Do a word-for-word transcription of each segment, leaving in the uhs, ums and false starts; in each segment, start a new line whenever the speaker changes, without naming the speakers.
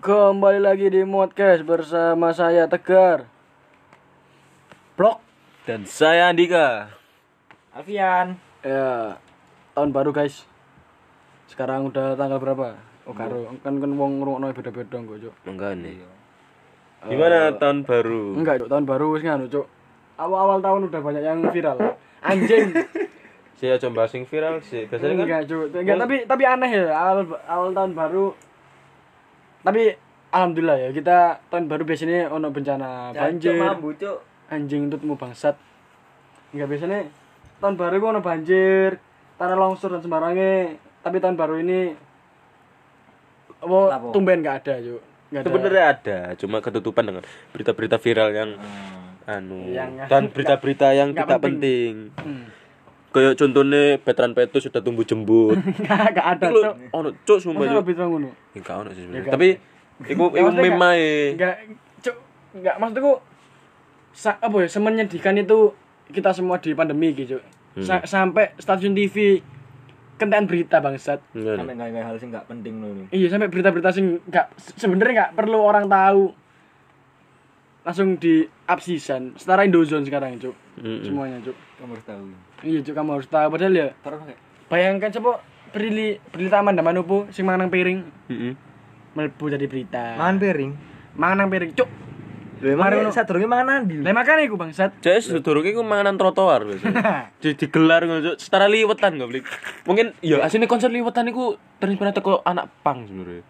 Kembali lagi di Modcast bersama saya Tegar,
Blok
dan saya Andika.
Alfian.
Ya, tahun baru guys. Sekarang udah tanggal berapa? Oh karo, kan kan wong ngrungokno beda-beda kok, Cuk.
Enggak nih. Gimana
Eh,
tahun baru?
Enggak, Cuk, tahun baru wis nganu, Cuk. Awal-awal tahun udah banyak yang viral. Anjing.
Saya coba sing viral sih. Biasanya kan
Enggak, Cuk. Enggak, tapi tapi aneh ya awal awal tahun baru. Tapi alhamdulillah ya, kita tahun baru biasanya ono bencana banjir.
Mambu, Cuk.
Anjing tutmu bangsat. Enggak biasanya tahun baru gua ono banjir, tanah longsor dan sembarangnya. Tapi tahun baru ini apa
Lapo?
tumben enggak ada, Cuk. Enggak ada.
sebenarnya ada, cuma ketutupan dengan berita-berita viral yang anu
Yang-
dan berita-berita yang
nggak
tidak
penting.
penting.
Hmm.
Kayak contohnya veteran Petrus sudah tumbuh jembut.
Enggak enggak ada,
Lu
Cuk.
ono cuk sumpah
Masa
cuk.
lebih terang ngono?
Enggak ono sih
Ya,
sebenarnya.
kan?
Tapi iku
Ya,
iku
maksudnya
meme
enggak-
ae.
Enggak, Cuk. Enggak maksudku sa- apa ya, semenyedihkan itu kita semua di pandemi gitu, Cuk. Sa- sampai stasiun T V kentean berita bangsat.
Enggak.
Sampai enggak hal sing enggak penting loh.
Iya, sampai berita-berita sing enggak sebenarnya enggak perlu orang tahu. Langsung di absisan, setara Indozone sekarang, Cuk.
Mm-mm.
Semuanya, Cuk.
Kamu harus tahu.
Iya, Cuk, kamu harus tahu padahal ya.
Terus kayak
Bayangkan coba berili berita Amanda Manopo sing mangan nang piring
Heeh.
mlebu jadi berita.
mangan piring.
Mangan nang piring, Cuk.
Lho
Mari
emang
ngono.
sadurunge mangan ndi?
Lah makane iku bangsat.
Jadi sedurunge iku manganan trotoar biasanya. Di digelar ngono cuk, setara liwetan enggak blik. Mungkin ya asline konser liwetan iku terinspirasi teko anak pang sebenarnya.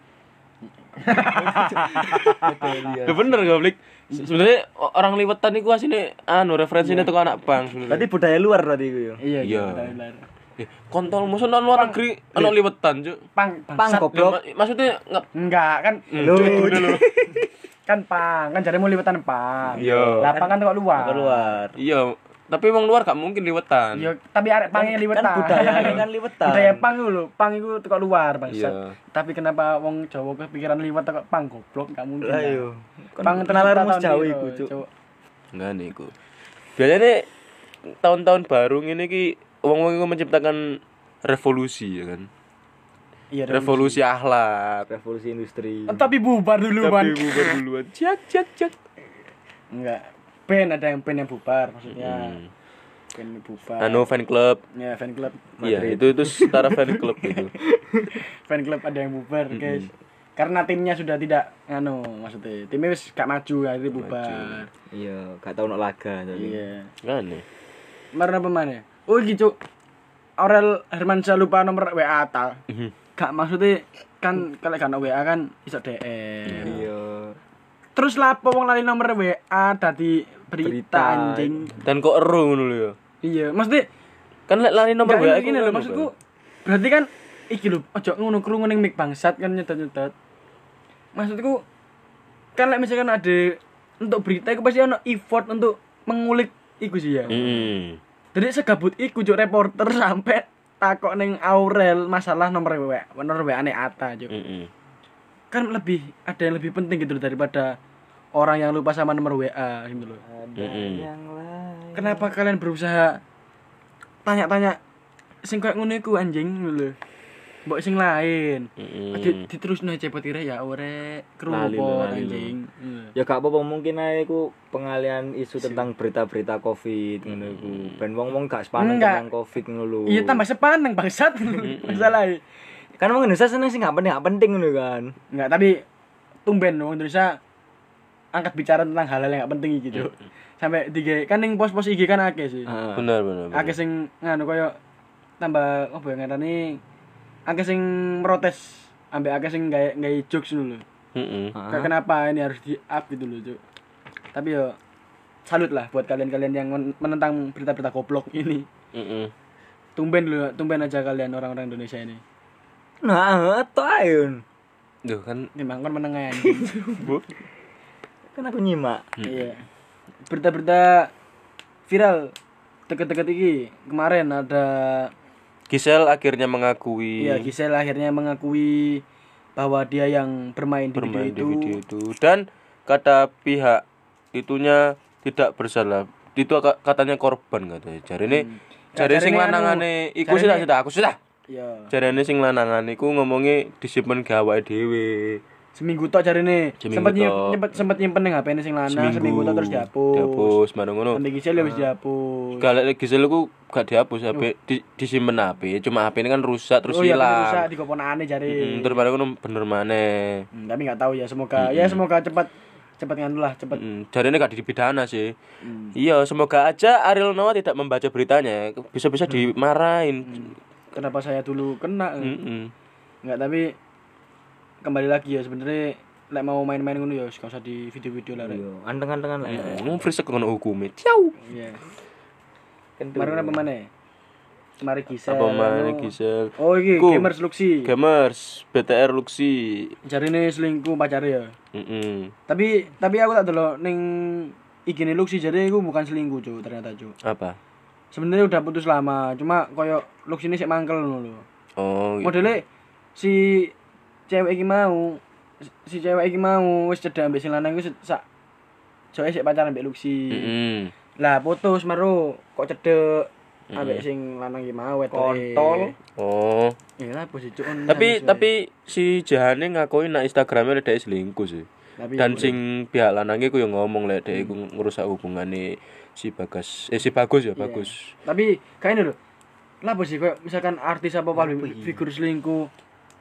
Ya bener enggak blik. Sebenarnya orang liwetan iku asline anu referensinya teko anak pang sebenarnya.
Berarti budaya luar berarti iku ya.
Iya,
Iya.
benar.
Eh, kontol musuh nang luar negeri ana liwetan cuk.
Pang
Pang
bangsat.
goblok.
Ma- Maksudnya enggak
Enggak kan
Lho.
kan pang kan jaremu liwetan pang.
Iya.
Lah pang kan kok luar.
Keluar.
iya, tapi wong luar gak mungkin liwetan.
Iya, tapi arek pangnya liwetan.
Kan budaya kan liwetan.
Budaya pang iku lho, pang iku teko luar bangsat.
Iya.
Tapi kenapa wong Jawa kepikiran liwet teko pang goblok enggak mungkin.
Lah yo.
Pang
kenalan
tercipta
Jawa
tahun
iku,
piro,
Cuk.
Enggak nih iku. Biasanya tahun-tahun baru ngene iki wong-wong iku menciptakan revolusi ya kan.
Iya,
Revolusi akhlak.
Revolusi industri.
Tapi bubar dulu,
Tapi
Ban.
bubar duluan. Jak jak jak.
Enggak. Band ada yang band yang bubar maksudnya.
Hmm.
Band bubar.
Anu fan club.
Ya, fan club.
Iya, itu itu setara fan club itu.
Fan club ada yang bubar, guys. Karena timnya sudah tidak anu, maksudnya timnya wis gak maju, akhirnya bubar.
Iya, gak tau nok laga tapi.
Iya.
Kan nih.
Marah pemane? Oh gitu. Aurel Hermansyah lupa nomor W A ta. Gak maksudnya kan kalau kan W A kan iso D M.
Iya.
Terus lapo wong lali nomor W A dadi berita,
Berita.
anjing.
Dan kok eru ngono lho ya.
Iya, maksudnya
Kan lek lari nomor
Enggak,
W A
ini gini
aku
lho
kan
maksudku.
bukan.
Berarti kan iki lho, ojo ngono krungu ning mic bangsat kan nyetot-nyetot. Maksudku kan lek misalkan ada untuk berita iku pasti ono effort untuk mengulik iku sih ya.
Hmm.
Jadi segabut iku juk reporter sampai takok ning Aurel masalah nomor W A, nomor W A-ne Ata juk.
Heeh.
Kan lebih ada yang lebih penting gitu loh daripada orang yang lupa sama nomor W A gitu loh.
Ada
Mm-mm.
yang lain.
Kenapa kalian berusaha tanya-tanya sing koyo ngono iku anjing ngono lho. Mbok sing lain.
Heeh.
Di, diterusno cepet ire ya ore
Lali lho,
kerupot
lali lho.
anjing. Iya.
Ya gak apa-apa mungkin ae iku pengalian isu tentang berita-berita Covid ngono iku. Ben wong-wong gak sepaneng
Enggak.
tentang Covid ngono lho.
Iya tambah sepaneng bangsat. Masalah.
Kan wong Indonesia seneng sing gak penting gak penting ngono kan.
Enggak, tapi tumben wong Indonesia angkat bicara tentang hal-hal yang gak penting iki, Cuk. Sampai tiga kan ning pos-pos I G kan akeh sih.
Heeh.
Benar benar. benar.
Akeh sing nganu koyo tambah apa ya ngarani akeh sing protes ambek akeh sing gawe gawe jokes ngono lho.
Heeh.
Kayak kenapa ini harus di-up gitu loh, Cuk. Tapi yo salut lah buat kalian-kalian yang men- menentang berita-berita goblok ini.
Heeh.
Tumben dulu, tumben aja kalian orang-orang Indonesia ini.
Nah, to ayo.
Duh kan
Memang kan menengah anjing.
Bu.
Kan aku nyimak.
Iya. Berita-berita viral deket-deket iki kemarin ada
Gisel akhirnya mengakui
iya Gisel akhirnya mengakui bahwa dia yang bermain di
bermain di
video itu.
video itu dan kata pihak itunya tidak bersalah. Itu ka- katanya korban katanya. Jarine
Hmm.
jare
Ya,
sing
jarine
lanangane
anu,
iku sudah
jarine-
sudah aku sudah.
Iya.
Jarene sing lanangan iku ngomongi disipen gawe dhewe.
Seminggu tok jarine.
Seminggu
Sempet nyimpen
tok.
nyempet sempet nyimpen ning H P-ne sing lanang seminggu tok terus dihapus.
Dihapus bareng ngono.
Sampai Gisel ya wis dihapus.
Kalau Gisel ku gak dihapus H P, di, disimpen H P, cuma H P ini kan rusak terus
Oh iya,
hilang.
rusak di koponane jare.
Hmm, terus bareng ngono bener maneh.
Hmm, tapi nggak tahu ya, semoga ya semoga cepat cepat nganu lah, cepat.
Hmm, jarine gak dipidana sih.
Hmm.
Iya, semoga aja Ariel Noah tidak membaca beritanya, bisa-bisa dimarahin.
Kenapa saya dulu kena?
Heeh.
Enggak, tapi kembali lagi ya sebenarnya lek mau main-main ngono ya gak usah di video-video lah. Rek.
Iya, anteng-antengan lah.
Ngomong free ngono hukume. Ciao.
Iya.
Kentu.
Kemarin apa mana? Mari Gisel.
Apa maneh Gisel?
Oh iki
Ku.
gamers Luxi.
Gamers, B T R Luxi.
Jarine selingkuh pacare ya.
Heeh.
Tapi tapi aku tak delok ning I G-ne Luxi jadi iku bukan selingkuh, Cuk, ternyata, Cuk.
Apa?
Sebenarnya udah putus lama, cuma koyo Luxi ini sik mangkel ngono lho.
Oh, gitu.
Modele si cewek iki mau si cewek iki mau wis cedhak ambek sing lanang iku sak joe sik pacaran ambek Luxi.
Heeh.
Lah putus maro kok cedhek ambek sing lanang iki mau wetoke.
Kontol.
Oh.
Ya lah posisi Cuk.
Tapi tapi si Jahane ngakui nak Instagramnya dhek selingkuh sih.
Tapi
Dan sing pihak lanangnya ku yang ngomong lek dhek iku ngerusak hubungane si Bagas. Eh si Bagus ya, Bagus.
tapi kayaknya lho. Lah posisi koyo misalkan artis apa public figur selingkuh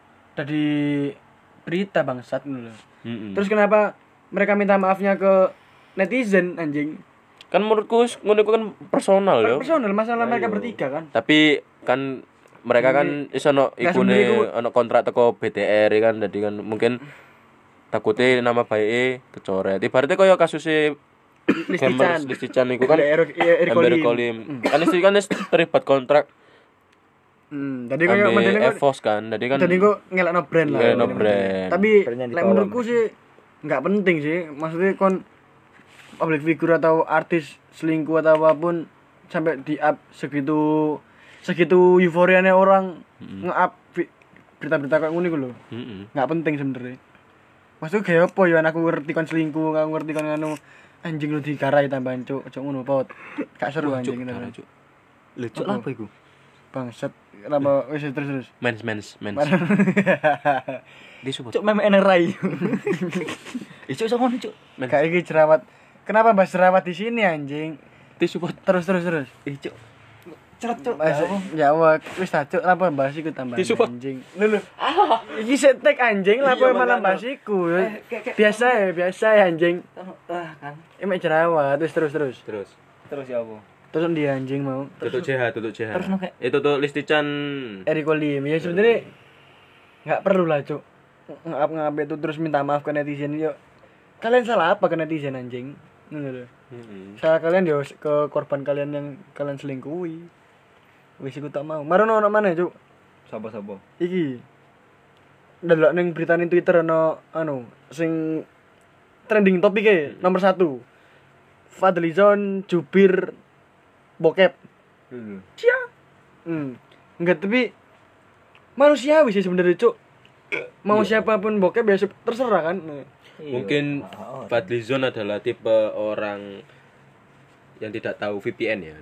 dari berita bangsat ngono lho.
Heeh.
Terus kenapa mereka minta maafnya ke netizen anjing?
Kan menurutku ngono iku kan personal ya.
Personal masalah mereka bertiga kan.
Tapi kan mereka kan iso ono
Nggak,
ikune
sebenarnya iku-
ono kontrak teko B T R kan jadi kan mungkin takutnya nama baike kecoret. Ibaratnya koyo kasusnya Gamers Listican iku kan
Eric
Amber Kolim. Kan istri kan wis terlibat kontrak
Hmm, tadi koyo
ambil
modelnya kok
Evos kan. Jadi kan
tadi kok ngelakno brand lah.
Ngelakno brand.
Tapi
Brandnya
lek
ditolong.
menurutku sih enggak penting sih. Maksudnya kon public figure atau artis selingkuh atau apapun sampai di up segitu segitu euforianya orang nge-up vi- berita-berita kayak ngono iku lho.
Heeh.
Enggak penting sebenarnya. Maksudnya kayak apa ya aku ngerti kon selingkuh, aku ngerti kon anu anjing lu dikarai tambahan cuk, cuk ngono pot. Gak seru anjing ngono.
Lucu apa iku?
Bangsat, kenapa wis terus terus.
Mens mens mens. Di support.
Cuk meme N R I. Ih cuk sama cuk.
Kayak iki jerawat. Kenapa bahas jerawat di sini anjing?
Di support.
Terus terus terus.
Ih cuk. Ceret cuk.
Bahas Jawa wis ta cuk, apa bahas iku tambah
Disupport.
anjing. Lho lho. Iki setek anjing, lha apa malah bahas iku. Biasa ya, biasa ya anjing.
Ah kan.
Emek jerawat, terus terus terus.
Terus.
Terus ya apa?
Terus dia anjing mau.
Tutuk C H, tutuk C H.
Terus no, kayak-
Itu tuh Listican.
Eriko Lim ya sebenarnya nggak perlu lah cuk ngap ngap itu terus minta maaf ke netizen yuk kalian salah apa ke netizen anjing ngono lho
Heeh.
salah kalian yo ke korban kalian yang kalian selingkuhi wis iku tak mau marono ono mana cuk
Sapa-sapa?
iki ndelok ning berita ning Twitter ono anu sing trending topike nomor satu Fadlizon jubir bokep
Dulu.
Cia. Hmm. Enggak tapi manusiawi sih sebenarnya, Cuk. Mau siapapun bokep ya terserah kan.
Mungkin Fadlizon adalah tipe orang yang tidak tahu V P N ya.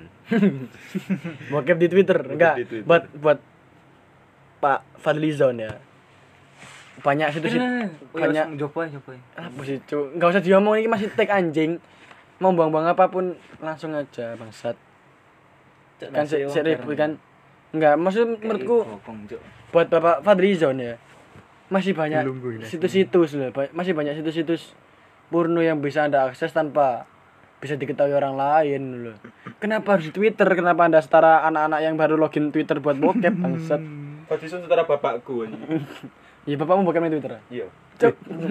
Bokep di Twitter. Enggak.
di Twitter.
Buat buat Pak Fadlizon ya. Banyak situs banyak
coba coba.
apa sih, Cuk? Enggak usah diomong ini masih tag anjing. Mau buang-buang apapun langsung aja bangsat. Kan se ribut kan. Enggak, maksud menurutku buat Bapak Fadlizon ya masih banyak situs-situs loh, ba- masih banyak situs-situs porno yang bisa Anda akses tanpa bisa diketahui orang lain loh. Kenapa harus di Twitter? Kenapa Anda setara anak-anak yang baru login Twitter buat bokep bangsat?
Fadlizon setara bapakku.
Ya bapakmu bokep di Twitter.
Iya.
Cuk.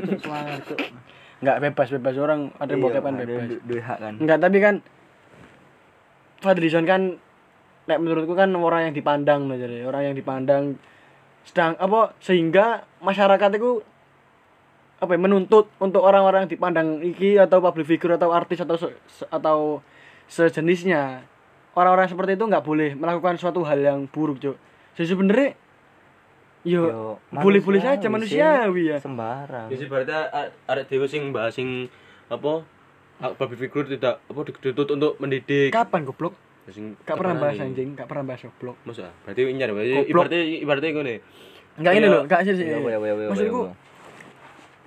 Enggak bebas-bebas orang ada bokepan bebas.
Duwe hak kan.
Enggak, tapi kan Fadlizon kan nek menurutku kan orang yang dipandang loh jadi orang yang dipandang sedang apa sehingga masyarakat itu apa ya, menuntut untuk orang-orang yang dipandang iki atau public figure atau artis atau se- se- atau sejenisnya orang-orang seperti itu nggak boleh melakukan suatu hal yang buruk cuk jadi sebenarnya yo,
Yo,
boleh-boleh saja
manusiawi
manusiawi ya
Sembarang.
Jadi berarti arek dhewe sing bahas sing apa public figure tidak apa dituntut untuk mendidik.
kapan goblok
Sing
gak pernah bahas
terkenal.
anjing gak pernah bahas goblok
Masa? Berarti nyar berarti
Goblok.
ibaratnya ibaratnya ngene.
enggak ini
Kayak-
loh enggak sih sih
Ya, ya, ya, ya,
maksudku
ya, ya.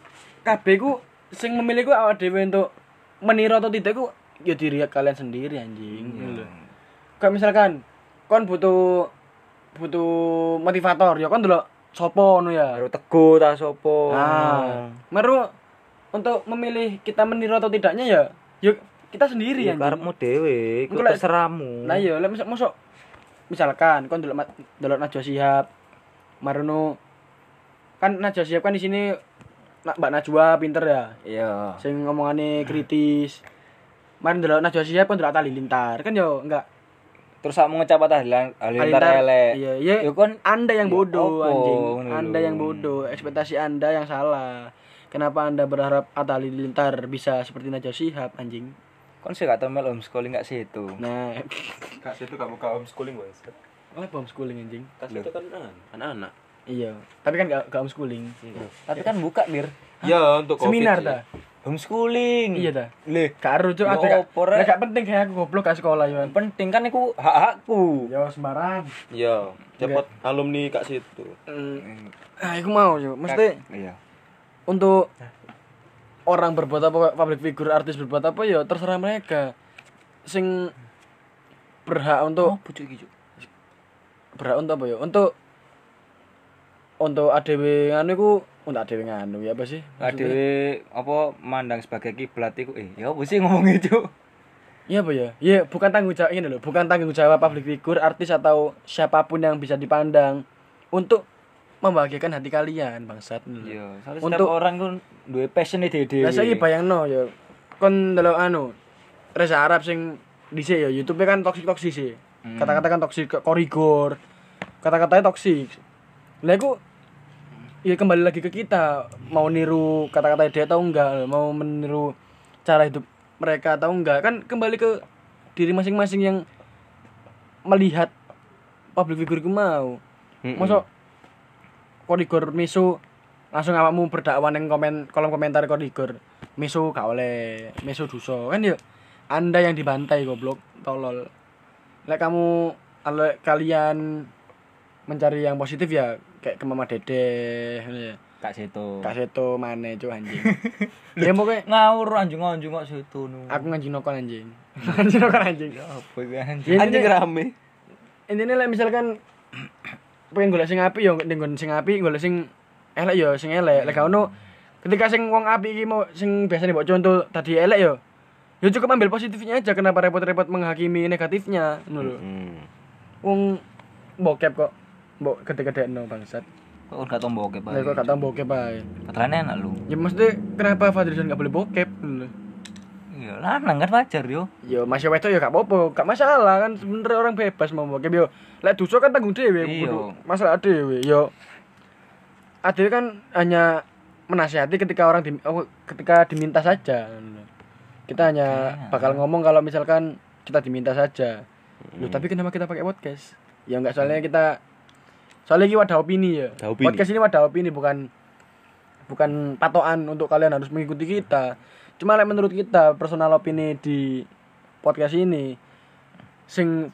kabeh ku sing memilih ku awak dhewe untuk meniru atau tidak ku ya diri kalian sendiri anjing. Ngono lho. Kayak misalkan kon butuh butuh motivator ya kon delok sapa ngono ya.
Baru teguh ta sopo.
Nah, meru untuk memilih kita meniru atau tidaknya ya yuk kita sendiri
ya
anjing.
karepmu dhewe, iku
Engko lek-
terserahmu.
Nah iya, lek misal mosok misalkan kon delok ma- delok Najwa Shihab, marono kan Najwa Shihab kan di sini nak Mbak Najwa pinter ya,
Iya.
sing ngomongane kritis. Mari delok Najwa Shihab kon delok Atta Halilintar, kan yo enggak
Terus sakmu ngecap Atta Halilintar elek.
Iya, iya.
Ya kon
Anda yang
Ya
bodoh
opo,
anjing.
ngono
Anda
lho.
yang bodoh, ekspektasi Anda yang salah. Kenapa Anda berharap Atta Halilintar bisa seperti Najwa Shihab anjing?
kon sih gak tau mel homeschooling gak situ.
Nah,
Kak situ kamu ka homeschooling Bang.
apa homeschooling anjing?
Kak situ kan anak-anak.
Iya, tapi kan gak, gak homeschooling.
Tapi kan buka dir
Ya untuk Covid
Seminar
sih.
ta?
homeschooling.
Iya ta?
Leh,
Karo cuk,
Ya
ada gak,
opo, Rek?
lah gak penting kayak aku goblok ke sekolah yo.
penting kan iku hak-hakku.
Ya sembarang.
Ya, cepet alumni Kak situ.
Hmm. Ah, aku mau yo. Mesti
Iya.
untuk orang berbuat apa, public figure, artis berbuat apa ya terserah mereka. Sing berhak untuk
Oh, pucuk iki, Cuk.
berhak untuk apa ya? Untuk untuk A D W nganu iku untuk A D W nganu ya apa sih?
Adewe apa mandang sebagai kiblat iku eh ya apa sih ngomongnya, Cuk?
Iya apa ya? Iya, bukan tanggung jawab ini loh, bukan tanggung jawab public figure, artis atau siapapun yang bisa dipandang untuk membahagiakan hati kalian, bangsat.
Iya, soalnya
Untuk-
setiap orang kan duwe passion e dhewe.
Lah saiki bayangno ya. Kon ndelok anu Reza Arab sing dhisik ya YouTube kan toksik-toksik sih.
Hmm.
Kata-kata kan toksik, korigor. Kata-katanya toksik. Lah iku ya kembali lagi ke kita, mau niru kata-kata dia atau enggak, mau meniru cara hidup mereka atau enggak, kan kembali ke diri masing-masing yang melihat public figure ku mau.
Mm-mm.
Mosok korigor misu langsung awakmu berdakwah ning komen kolom komentar korigor misu gak oleh misu dosa kan ya Anda yang dibantai goblok tolol. Lek kamu lek kalian mencari yang positif ya kayak ke Mama Dede ngono ya.
Kak situ.
Kak Seto maneh cuk anjing. Ya pokoknya
ngawur anjing-anjing kok situ nu.
aku nganjing nokon anjing. Nganjing nokon anjing.
Apa iki anjing?
Ya,
Anjing
intinya-
rame.
Intine lek misalkan pengen golek sing apik ya ning nggon sing apik, golek sing elek ya sing elek. Lek gak ono ketika sing wong apik iki mau sing biasane mbok contoh tadi elek ya. Ya cukup ambil positifnya aja, kenapa repot-repot menghakimi negatifnya ngono lho.
Hmm.
Wong bokep kok mbok gede-gedekno bangsat.
Kok gak tau bokep
Lah kok gak tau bokep ae.
Patrane enak lu.
Ya mesti kenapa Fadrizon gak boleh bokep ngono lho.
Iya, lanang kan wajar yo.
Ya masih wedok ya gak apa-apa, gak masalah kan sebenarnya orang bebas mau bokep yo. Lek dosa kan tanggung dhewe,
Iya.
kudu masalah dhewe. Yo Adil kan hanya menasihati ketika orang di, oh, ketika diminta saja. Kita hanya
Oke.
bakal ngomong kalau misalkan kita diminta saja. Loh, tapi kenapa kita pakai podcast? Ya enggak, soalnya kita soalnya ini wadah opini ya.
Wadah opini.
Podcast ini wadah opini, bukan bukan patokan untuk kalian harus mengikuti kita. Cuma like, menurut kita personal opini di podcast ini sing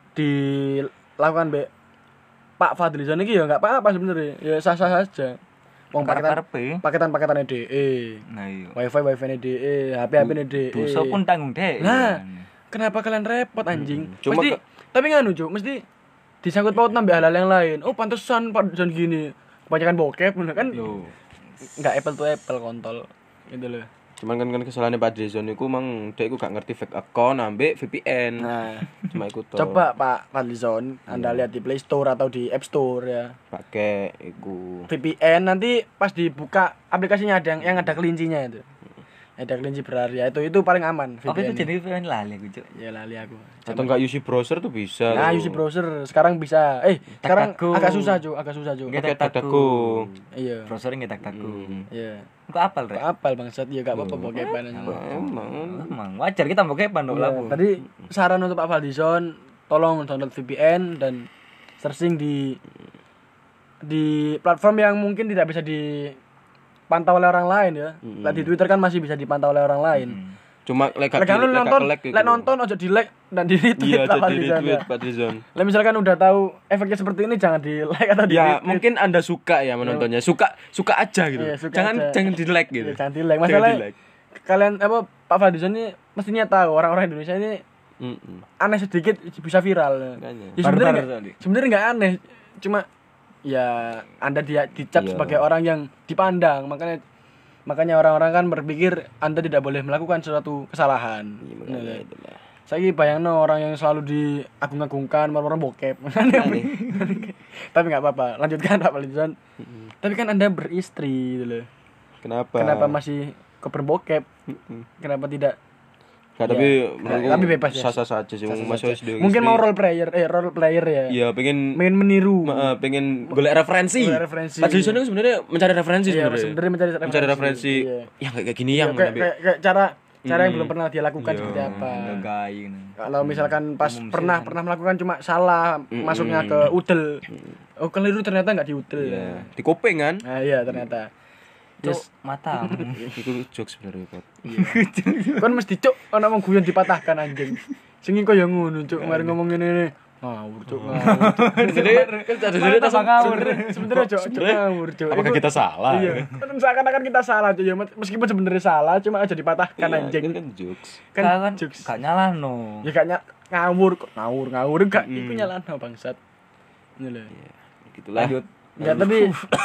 dilakukan be Pak Fadlizon iki ya enggak apa-apa sebenarnya. Ya sah-sah saja. Wong paketan
Karepe.
paketan-paketannya D E.
Nah iya.
Wifi wifi-ne D E, H P-H P-ne D E.
Dosa pun tanggung deh.
Nah, kenapa kalian repot anjing?
Hmm, cuma
Mesti
ke-
tapi nganu, Cuk, mesti disangkut paut nambah hal-hal yang lain. Oh, pantesan Pak Jon gini. Kebanyakan bokep bener kan?
Loh.
Enggak apple to apple kontol. Gitu loh.
Cuman kan kan kesalahannya Pak Drizon iku mang dek iku gak ngerti fake account ambek V P N.
Nah,
Cuma iku to.
coba Pak Fadlizon, Anda lihat di Play Store atau di App Store ya.
pakai iku.
V P N nanti pas dibuka aplikasinya ada yang, yang ada kelincinya itu. Ada kelinci berharga itu itu paling aman V P N.
Apa itu jadi V P N lali aku, Cuk.
Ya lali aku.
Atau enggak use browser tuh bisa.
Nah,
loh.
use browser sekarang bisa. Eh, sekarang
Tak-taku.
agak susah, Cuk, agak susah, Cuk.
Nggak
Pakai
tak-taku.
dadaku.
Iya.
Browser nggak tak taku.
Hmm.
Iya.
Kok apal, Rek?
Apal bangsat ya gak apa-apa bokepan aja.
Emang.
Emang wajar kita bokepan dong
Iya,
labu.
tadi saran untuk Pak Fadlizon, tolong download V P N dan searching di di platform yang mungkin tidak bisa dipantau oleh orang lain ya. Lah di Twitter kan masih bisa dipantau oleh orang lain.
Hmm.
Cuma lek
Lek kan lu nonton, lek nonton aja di-like dan di-retweet
iya
Pak
jadi
Fadlizon,
retweet
ya.
Pak Dizon.
Lah misalkan udah tahu efeknya seperti ini jangan di-like atau
Ya
di-retweet.
mungkin Anda suka ya menontonnya. Suka suka aja gitu.
Iya, suka
jangan
aja.
jangan di-like gitu.
Ya, jangan di-like.
Jangan
Masalah
di-like.
kalian apa Pak Fadlizon ini mestinya tahu orang-orang Indonesia ini
Mm-mm.
aneh sedikit bisa viral.
Makanya.
Ya sebenarnya
Barbar
nggak-
tadi.
sebenarnya enggak aneh, cuma ya Anda dia dicap
Iya.
sebagai orang yang dipandang, makanya makanya orang-orang kan berpikir Anda tidak boleh melakukan suatu kesalahan.
Iya, makanya
Nah,
itulah.
saya bayangno orang yang selalu diagung-agungkan, orang bokep. Tapi nggak apa-apa, lanjutkan Pak Fadlizon. Tapi kan Anda beristri gitu loh.
Kenapa?
Kenapa masih kok berbokep?
Mm-mm.
Kenapa tidak?
Nggak,
Ya,
tapi
nah, tapi bebas ya.
sah-sah saja sih.
Sah-sah
Masih
saja.
S D
Mungkin
istri.
mau role player, eh role player ya.
Iya, pengen
Pengen meniru.
Ma- eh, pengen golek referensi.
Golek referensi.
Pak Jason itu sebenarnya mencari referensi
Iya,
sebenarnya.
sebenarnya mencari referensi.
Mencari referensi.
Iya.
Yang kayak kayak gini
Ya,
yang
kayak,
tapi-
kayak, kayak cara cara yang
Hmm.
belum pernah dia lakukan
Iya.
seperti apa.
Gagai gitu.
Kalau misalkan pas
Umum sih,
pernah
kan.
pernah melakukan cuma salah
Mm-mm.
masuknya ke udel. Oh, keliru ternyata nggak di udel.
Iya, di kuping kan.
Nah, iya ternyata.
Cuk,
Yes.
mata.
Itu jokes sebenarnya, Pak.
Kan mesti cuk ana wong guyon dipatahkan anjing. Sing kok ya ngono cuk, mari ngomong ngene. Ngawur cuk, ngawur. Cuk.
Jadi kan ada
Malah
jadi
tambah ngawur. Sebenarnya cuk, cuk
Sebenarnya,
ngawur cuk.
apakah
Itu-
kita salah?
Iya. Kan seakan-akan kita salah cuk ya, meskipun sebenarnya salah cuma aja dipatahkan
Iya,
anjing.
Kan kan jokes.
Kan
kan
jokes.
gak nyalahno.
Ya kayaknya ngawur kok, ngawur ngawur enggak iku nyalahno bangsat. Ini lho.
Gitulah.
Lanjut.
Ya tapi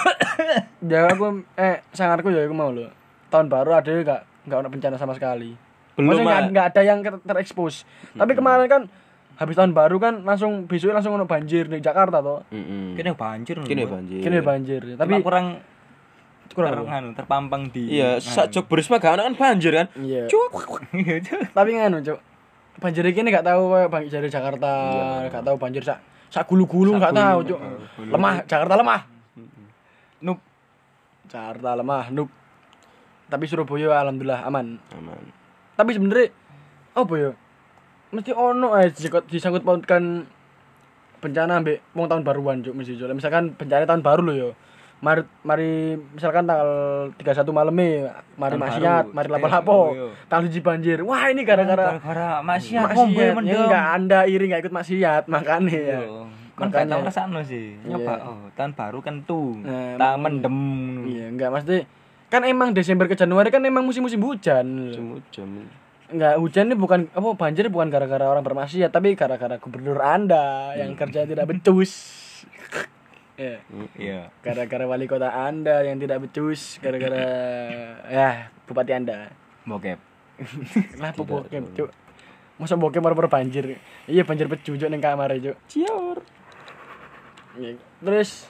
ya aku eh sangarku ya aku mau lho. Tahun baru ada enggak enggak ada bencana sama sekali.
Belum,
Maksudnya nggak
Mak.
nggak ada yang ter- terekspos. Tapi kemarin kan habis tahun baru kan langsung besoknya langsung ono banjir di Jakarta toh.
Heeh.
Kene banjir.
Kini
lho.
banjir.
Kini banjir.
Tapi
Tapi
kurang
kurang
kurang
apa?
anu, terpampang di.
Iya, sak jok berisma gak ono kan banjir kan.
Iya.
Cuk.
Tapi nganu, Cuk. Banjir iki nek gak tahu kayak banjir dari Jakarta, gak tahu banjir sak sak gulu-gulu gak tahu, Cuk. Lemah, Jakarta lemah.
Nup.
Jakarta lemah, nup. Tapi Surabaya alhamdulillah aman.
Aman.
Tapi sebenarnya apa ya? Mesti ono ae disangkut disangkut pautkan bencana ambek wong tahun baruan, Cuk, mesti Cuk. Misalkan bencana tahun baru lho ya. Mari mari misalkan tanggal tiga puluh satu malamnya mari
Tahun
maksiat,
baru.
mari
Eh,
lapo-lapo.
oh, iya.
Tanggal siji banjir. Wah, ini gara-gara
gara maksiat
maksiat.
ngombe
Ya,
mendem.
enggak Anda iri enggak ikut maksiat, makanya ya.
Iya. Kan gak
Makanya-
tau rasano sih. Nyoba
Iya.
oh, tahun baru kan tuh.
Nah,
Tak
makanya.
mendem.
Iya, enggak mesti kan emang Desember ke Januari kan emang musim-musim hujan.
Semua jam.
Enggak, hujan ini bukan apa banjir bukan gara-gara orang bermaksiat, tapi gara-gara gubernur Anda yang kerja tidak becus. Ya,
Iya.
gara-gara wali kota Anda yang tidak becus, gara-gara ya bupati Anda.
Bokep.
Lah apa bokep, Cuk. Masa bokep baru banjir. Iya, banjir pecujuk ning kamar, Cuk.
Cior.
Iya. Terus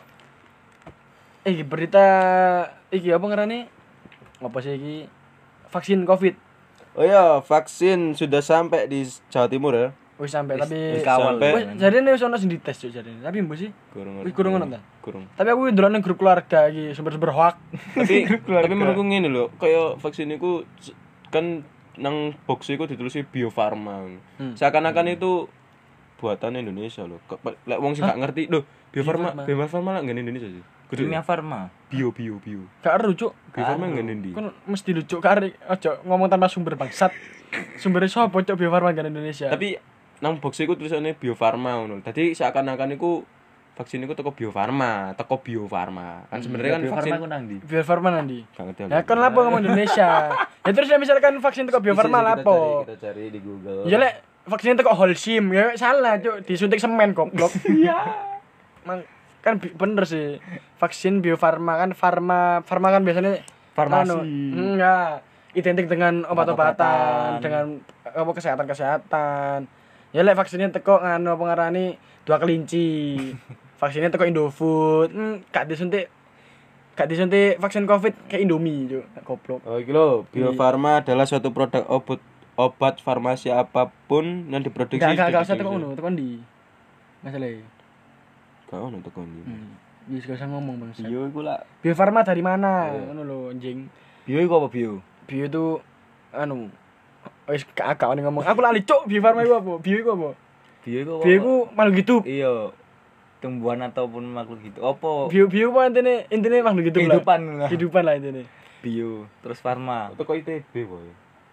eh berita iki apa ngarane? Apa sih iki? Vaksin Covid.
Oh iya, vaksin sudah sampai di Jawa Timur ya.
Wis sampai tapi
wis kawal.
Sampai-
wis jarine wis ono sing dites Cuk jarine. Tapi mbok sih.
Kurang.
Wih, kurang ngono ta?
Kurang.
Tapi aku ndelok ning grup keluarga iki sumber-sumber hoak.
Tapi tapi menurutku ngene lho, kaya vaksin iku s- kan nang box iku ditulis Bio Farma.
Hmm.
Seakan-akan itu buatan Indonesia lho. Kok- Lek wong sing gak ngerti lho, Bio Farma,
Farma.
Bio Farma lah nggak Indonesia sih. Kudu
Kimia Farma.
bio bio bio.
Gak eru Cuk.
Bio Farma nggak Indonesia.
Kan mesti lucu kari aja ngomong tanpa sumber bangsat. Sumbernya sapa Cuk Bio Farma kan Indonesia.
Tapi nang box iku tulisannya Bio Farma ngono. Dadi seakan-akan iku vaksin iku teko Bio Farma, teko Bio Farma. Kan sebenarnya kan vaksin
nang ndi?
Bio Farma nanti.
gak ngerti.
Ya kan lapo ngomong Indonesia. Ya terus ya misalkan vaksin teko Bio Farma lapo.
Kita cari di Google.
Ya lek vaksin teko Holcim ya salah Cuk, disuntik semen goblok. Iya. Mang kan bi- bener sih. Vaksin Bio Farma kan farma farma kan biasanya
Farmasi.
anu, enggak identik dengan obat-obatan,
Obat-obatan.
dengan apa kesehatan-kesehatan. Ya lek vaksinnya teko nganu apa ngarani dua kelinci. Vaksinnya teko Indofood. Hmm, gak disuntik gak disuntik vaksin Covid kayak Indomie, Cuk. Goblok.
Oh, iki lho, Bio Farma adalah suatu produk obat obat farmasi apapun yang diproduksi.
Gak gak
di
gak usah teko
Indonesia.
ngono, teko ndi? Masalah.
Gak ono teko ndi.
Hmm. Wis gak usah ngomong, Bang.
Bio iku lah.
Bio Farma dari mana?
Iya.
Ngono lho, anjing.
Bio iku apa bio?
Bio itu anu wis gak agak ngomong. Aku lali cuk, Bio Farma iku apa? Bio iku apa?
Bio iku apa?
Bio iku makhluk hidup.
Iya. Tumbuhan ataupun makhluk hidup. Apa?
Bio bio apa intine? Intine makhluk hidup lah.
Kehidupan lah.
Kehidupan lah intine.
Bio, terus farma.
Teko I T B wae.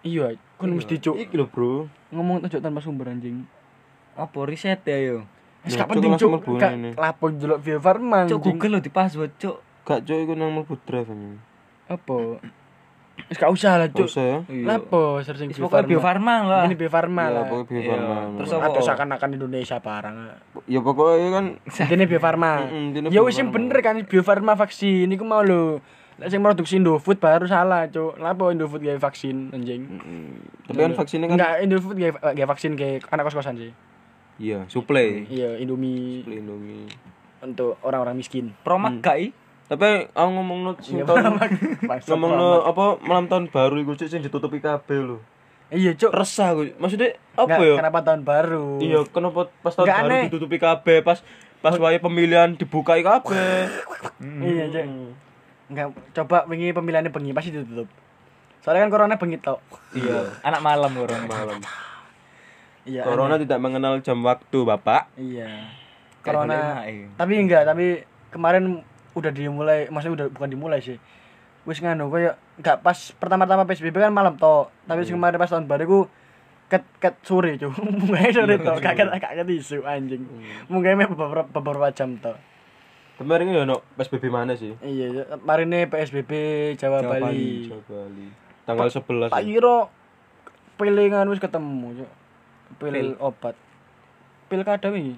Iya, kon mesti cuk
Iki lho, Bro.
ngomong ojo tanpa sumber anjing.
Apa riset ya yo?
Wis
Nah,
gak
Cuk,
penting
langsung
cuk.
mlebu
Gak
ngene.
lapo ndelok Bio Farma.
Cuk
anjing.
Google lho di password, Cuk.
Gak cuk iku nang mlebu drive ini.
Apa? Wis gak usah lah
Gak
cuk.
usah ya.
Lapo searching
Wis
Bio
pokoknya
Farma.
Bio Farma lah.
Ini Bio Farma
Ya
lah.
pokoknya Bio
Iya.
Farma.
Terus
Terus
apa?
Atau seakan-akan Indonesia barang.
ya pokoknya kan
Ini Bio Farma.
Mm-mm, ini
Ya
Bio
wis sing
Farma.
bener kan Bio Farma vaksin iku mau lho. Lek sing produksi Indofood baru salah, Cuk. Lapo Indofood gawe vaksin anjing?
mm, tapi kan vaksinnya kan
Enggak, Indofood gawe gawe vaksin ke anak kos-kosan sih.
iya, suplai.
Iya, Indomie
Suplai Indomie.
untuk orang-orang miskin.
Promak gak i?
Tapi aku ngomongno sing
Iya,
tahun
Bangsat,
ngomongno apa malam tahun baru iku cuk sing ditutupi kabeh lho.
Iya, Cuk.
Resah aku. Maksudnya apa
Nggak,
ya?
Kenapa tahun baru?
Iya, kenapa pas tahun
Nggak
baru
aneh.
ditutupi kabeh, pas pas wae pemilihan dibukai kabeh.
Iya, Cuk. Enggak, coba wingi pemilihannya bengi pasti ditutup. Soalnya kan corona bengi tok.
Iya,
Anak malam orang
malam.
Iya.
Corona tidak mengenal jam waktu, Bapak.
Iya.
Kayak
Corona.
golek emak, iya.
Tapi enggak, tapi kemarin udah dimulai, maksudnya udah bukan dimulai sih. Wis nganu koyo enggak pas pertama-tama P S B B kan malam tok. Tapi sing kemarin pas tahun baru ku ket ket sore, Cuk. Mulai sore tok, gak ket gak ket isu anjing. Mungkin beberapa beberapa jam tok.
Kemarin ya no P S B B mana sih?
Iya, kemarin nih P S B B Jawa,
Jawa
Bali.
Jawa Bali. Tanggal sebelas.
Tak kira pilingan wis ketemu, Cuk. Pil,
Pil.
obat. Pilkada wingi.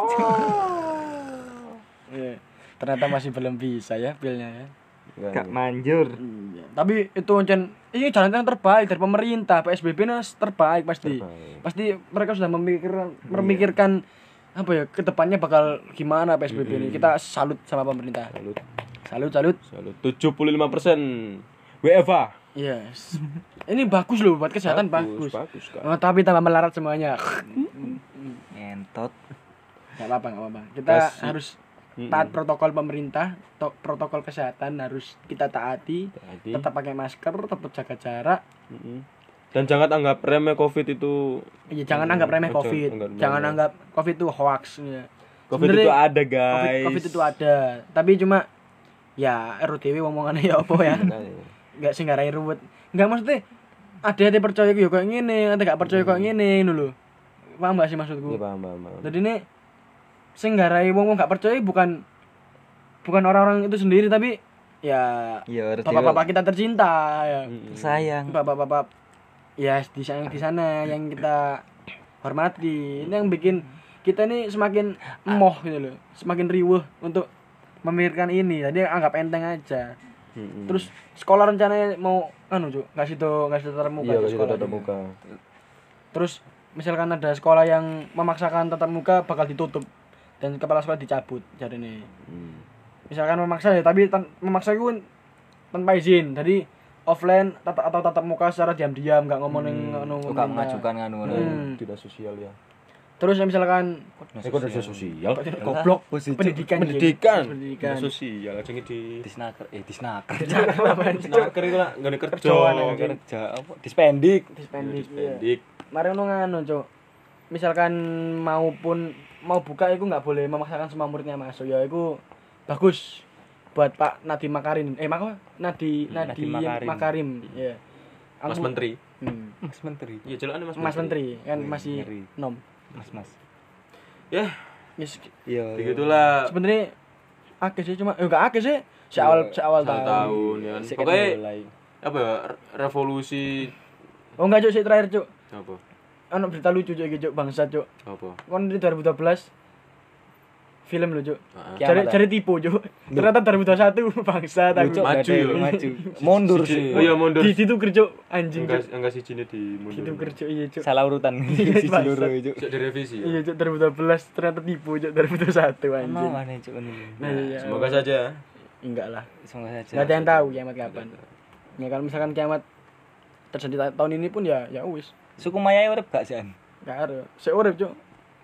Iya. Ternyata masih belum bisa ya pilnya ya.
Gak manjur.
Iya. Tapi itu ancen ini jalan yang terbaik dari pemerintah. P S B B nas terbaik pasti.
Terbaik.
Pasti mereka sudah memikirkan memikirkan apa ya kedepannya bakal gimana P S B B ini. Kita salut sama pemerintah.
Salut.
Salut, salut.
Salut. tujuh puluh lima persen W F A.
Yes. Ini bagus loh buat kesehatan bagus.
Bagus, Kak.
Oh, tapi tambah melarat semuanya.
Ngentot.
Gak apa-apa, gak apa-apa. Kita
Kasih.
harus taat protokol pemerintah, to- protokol kesehatan harus kita taati.
Taati.
Tetap pakai masker, tetap jaga jarak.
Mm-mm. Dan jangan anggap remeh Covid itu.
Iya, jangan anggap remeh
Ojo,
Covid.
anggap
Jangan
remeh.
anggap Covid itu hoax ya.
Covid
Sebenarnya
itu ada,
COVID,
guys.
COVID itu ada, tapi cuma ya R U D W omongannya ya apa ya. Enggak sing ngarai ruwet. Enggak maksudnya ada yang percaya yo kayak ngene, ada gak percaya kayak ngene ngono lho. Paham gak sih maksudku?
Iya, paham, paham, paham.
Jadi ini sing ngarai wong-wong gak percaya bukan bukan orang-orang itu sendiri tapi ya
Iya, harus
bapak-bapak kita tercinta ya.
Mm-mm.
sayang.
Bapak-bapak ya di sana di sana yang kita hormati. Ini yang bikin kita ini semakin emoh gitu loh, semakin riuh untuk memikirkan ini. Jadi anggap enteng aja.
Mm-mm.
Terus sekolah rencananya mau anu Cuk, ngasih tuh ngasih tatap muka
iya,
di
kasih
sekolah.
tatap muka.
Terus misalkan ada sekolah yang memaksakan tatap muka bakal ditutup dan kepala sekolah dicabut jadi nih.
Hmm.
Misalkan memaksa ya, tapi tan- memaksa itu tanpa izin. Jadi offline tata- atau tatap muka secara diam-diam, enggak ngomong ning anu.
Kok gak
pemerintah.
mengajukan kan ngono.
Hmm.
Tidak sosial ya.
Terus ya misalkan
Eh, kok tidak sosial?
goblok
Posisi.
pendidikan
Pendidikan.
Cuk. pendidikan.
Tidak sosial aja di
Disnaker, eh disnaker.
Snaker itu lah nggak kerja.
Kerjaan, anjing.
Kerja apa? Dispendik.
Dispendik. iya.
Pendik.
Mari ngono nganu, Cuk. Misalkan maupun mau buka itu nggak boleh memaksakan semua muridnya masuk ya itu bagus buat Pak Nadiem Makarim. Eh, Mak Nadi Nadiem
Nadiem Makarim.
Makarim. Ya.
Mas
Aku-
Menteri.
Hmm.
Mas Menteri.
Iya, jelasnya Mas,
Mas Menteri kan
Wih,
masih
ngeri.
nom.
Mas Mas.
Ya,
Yes.
Iya.
begitulah.
Sebenarnya akeh sih cuma eh enggak akeh sih. Seawal seawal
Satu
tahun.
tahun ya.
Sik
Pokoknya
mulai.
apa ya? re- Revolusi
Oh enggak, Cuk, sih terakhir, Cuk.
apa?
Ono berita lucu Cuk iki, Cuk, bangsa, Cuk.
Apa?
Kon di dua ribu dua belas film lho, Cuk.
Heeh.
Cari
Kiamat,
cari tipu, Cuk. Ternyata dua ribu dua puluh satu bangsa
Lucu,
aku.
Maju ya.
maju. Mundur
Siji-
sih.
Oh iya, mundur.
Di situ kerja anjing,
Enggak
Cuk.
enggak sih sini di mundur.
Situ kerja iya, Cuk.
Salah urutan.
Iya,
Siji
bangsat.
loro itu.
Sik direvisi ya.
Iya, Cuk, dua ribu dua belas ternyata tipu, Cuk, dua ribu dua puluh satu anjing.
Emang mana cuk ini?
Nah, iya.
Semoga saja.
Enggak lah.
Semoga saja.
Enggak ada yang tahu kiamat kapan. Ya kalau misalkan kiamat terjadi ta- tahun ini pun ya ya wis.
Suku Maya urip gak sih?
Enggak ada. Seurip, Cuk.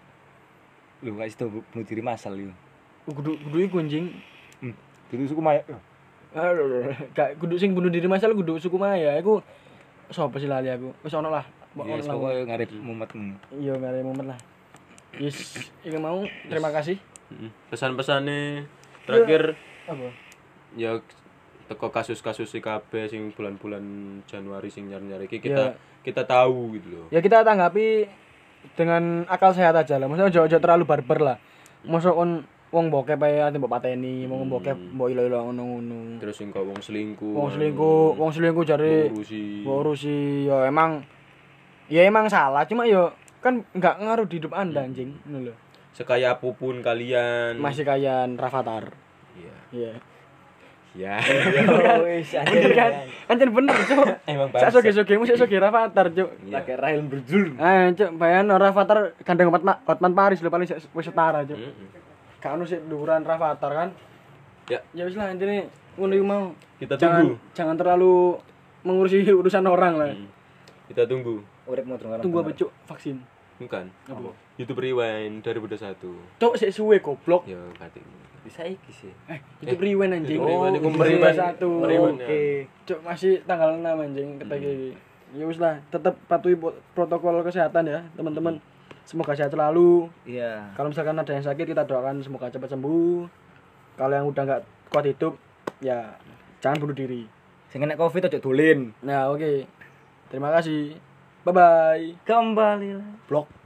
Lu gak itu bunuh diri masal lu.
Kudu kudu iku anjing.
Hmm. Dulu suku Maya.
Aduh, gak kudu sing bunuh diri masal kudu suku Maya. Iku sapa sih lali aku. Wis ono lah. Ono
Yes,
lah.
pokoknya ngarep mumet.
Iya, enggak ada momen lah. Yes, ini mau terima kasih.
Mm-mm. Pesan-pesannya terakhir
Apa?
ya teko kasus-kasus I K B sing bulan-bulan Januari sing nyari-nyari iki kita kita tahu gitu loh.
Ya kita tanggapi dengan akal sehat aja lah. Maksudnya ojo-ojo terlalu barbar lah. Mosok kon wong bokep ae ati mbok pateni, wong bokep mbok ilo-ilo ngono-ngono.
Terus sing kok wong selingkuh.
Wong selingkuh, wong selingkuh jare
urusi.
urusi ya emang ya emang salah, cuma ya kan enggak ngaruh di hidup Anda anjing, ngono lho.
Sekaya apapun kalian.
Masih kaya Rafathar.
Iya.
Iya.
Ya.
Wis
Bener kan? Anjir bener, Cuk.
Emang
Sak soge-sogemu sak soge Rafathar, Cuk.
pakai Rahel berjul.
Ah, Cuk, bayan Rafathar gandeng Hotman Hotman Paris lho paling wis setara, Cuk. Gak ono sik dhuwuran Rafathar kan.
Ya.
Ya wis lah intine ngono iku mau.
Kita
Jangan
tunggu.
jangan terlalu mengurusi urusan orang lah.
Hmm. Kita tunggu.
Uripmu terus.
Tunggu apa, Cuk? Vaksin.
Bukan.
Apa?
YouTube Rewind dua ribu dua puluh satu.
Cuk, sik suwe goblok.
Ya, kati.
Bisa iki sih.
Eh, YouTube Rewind anjing.
YouTube Rewind,
Oh,
iku
dua ribu
Rewind.
satu.
Rewind, ya.
Oke. Cuk, masih tanggal enam anjing ketek iki. Ya wis lah, tetap patuhi po- protokol kesehatan ya, teman-teman. Semoga sehat selalu.
Iya.
Kalau misalkan ada yang sakit, kita doakan semoga cepat sembuh. Kalau yang udah nggak kuat hidup, ya jangan bunuh diri.
Sing kena Covid aja dolin.
Nah, oke. Terima kasih. Bye bye.
Kembali.
Blok.